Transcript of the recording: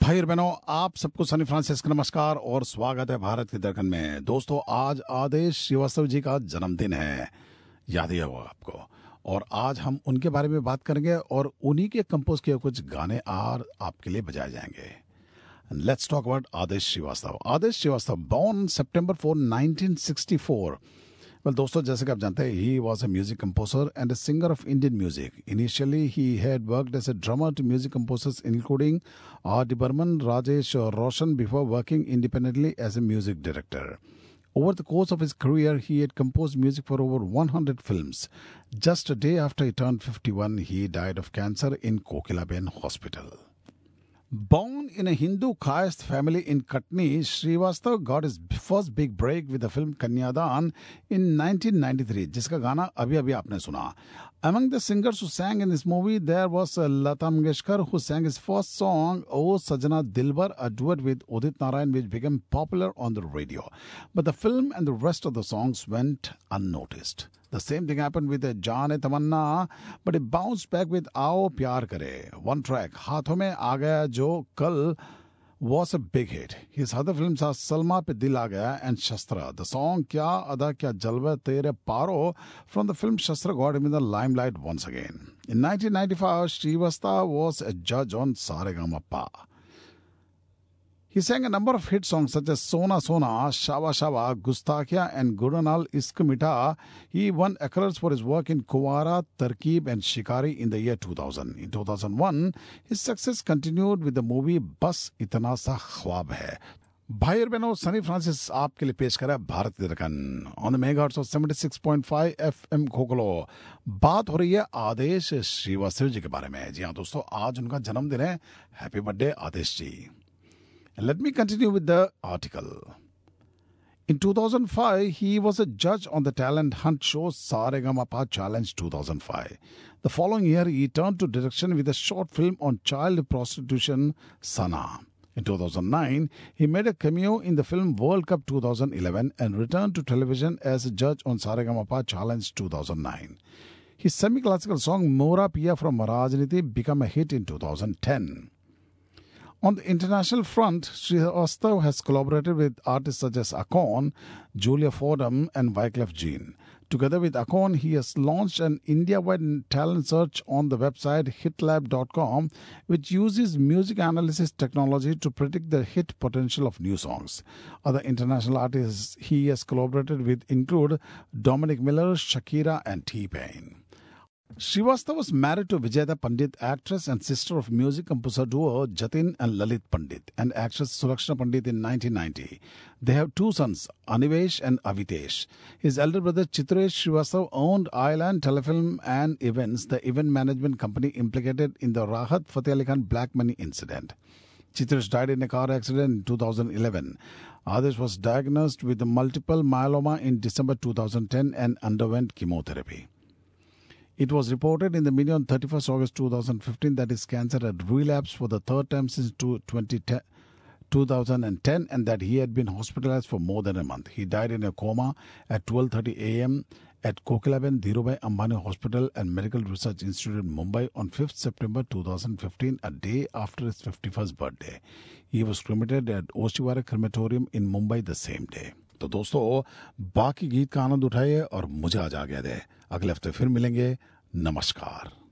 भाई और बहनों, आप सबको सनी फ्रांसिस का नमस्कार और स्वागत है भारत की दरकन में। दोस्तों, आज आदेश श्रीवास्तव जी का जन्मदिन है, याद ही होगा आपको। और आज हम उनके बारे में बात करेंगे और उन्हीं के कंपोज किए कुछ गाने आपके लिए बजाए जाएंगे। Let's talk about Adesh Srivastava. Adesh Srivastava, born September 4, 1964. Well, दोस्तों, जैसे कि आप जानते हैं, he was a music composer and a singer of Indian music. Initially, he had worked as a drummer to music composers including R.D. Burman, Rajesh Roshan before working independently as a music director. Over the course of his career, he had composed music for over 100 films. Just a day after he turned 51, he died of cancer in Kokilaben Hospital. Born in a Hindu caste family in Katni, Srivastav got his first big break with the film Kanyadan in 1993, जिसका गाना अभी आपने सुना। Among the singers who sang in this movie, there was Lata Mangeshkar, who sang his first song, O Sajna Dilbar, a duet with Udit Narayan, which became popular on the radio. But the film and the rest of the songs went unnoticed. The same thing happened with Jaan Tamanna, but it bounced back with Aao Pyar Kare. One track, Haathon Mein Aa Gaya Jo Kal, was a big hit. His other films are Salma Pe Dil Aa Gaya and Shastra. The song Kya Ada Kya Jalwa Tere Paro from the film Shastra got him in the limelight once again. In 1995, Srivastav was a judge on Saregama. He sang a number of hit songs such as Sona Sona, Shava Shava, Gustakhia and Gudanal Isk Mita. He won accolades for his work in Kuwara, Tarkib and Shikari in the year 2000. In 2001, his success continued with the movie Bas Itna Sa Khwab Hai. भाई और बहनों, Sunny Francis आपके लिए पेश करा भारत की Darkan on the megahertz of 76.5 FM खोखलो। बात हो रही है आदेश श्रीवास्तव जी के बारे में। जी हाँ दोस्तों, आज उनका जन्मदिन है। Happy birthday Adesh ji. Let me continue with the article. In 2005, he was a judge on the talent hunt show Saregama Challenge 2005. The following year, he turned to direction with a short film on child prostitution, Sana. In 2009, he made a cameo in the film World Cup 2011 and returned to television as a judge on Saregama Challenge 2009. His semi-classical song Mora Piya from Rajniti became a hit in 2010. On the international front, Srivastav has collaborated with artists such as Akon, Julia Fordham and Wyclef Jean. Together with Akon, he has launched an India-wide talent search on the website hitlab.com, which uses music analysis technology to predict the hit potential of new songs. Other international artists he has collaborated with include Dominic Miller, Shakira and T-Pain. Srivastav was married to Vijayada Pandit, actress and sister of music composer duo Jatin and Lalit Pandit, and actress Surakshana Pandit in 1990. They have two sons, Anivesh and Avitesh. His elder brother Chitresh Srivastav owned Island Telefilm and Events, the event management company implicated in the Rahat Fateh Ali Khan black money incident. Chitresh died in a car accident in 2011. Adesh was diagnosed with multiple myeloma in December 2010 and underwent chemotherapy. It was reported in the media on 31st August 2015 that his cancer had relapsed for the third time since 2010 and that he had been hospitalized for more than a month. He died in a coma at 12:30 a.m. at Kokilaben Dhirubhai Ambani Hospital and Medical Research Institute in Mumbai on 5th September 2015, a day after his 51st birthday. He was cremated at Oshiwara Crematorium in Mumbai the same day. तो दोस्तों, बाकी गीत का आनंद उठाइए और मुझे आज आ गया दे। अगले हफ्ते फिर मिलेंगे। नमस्कार।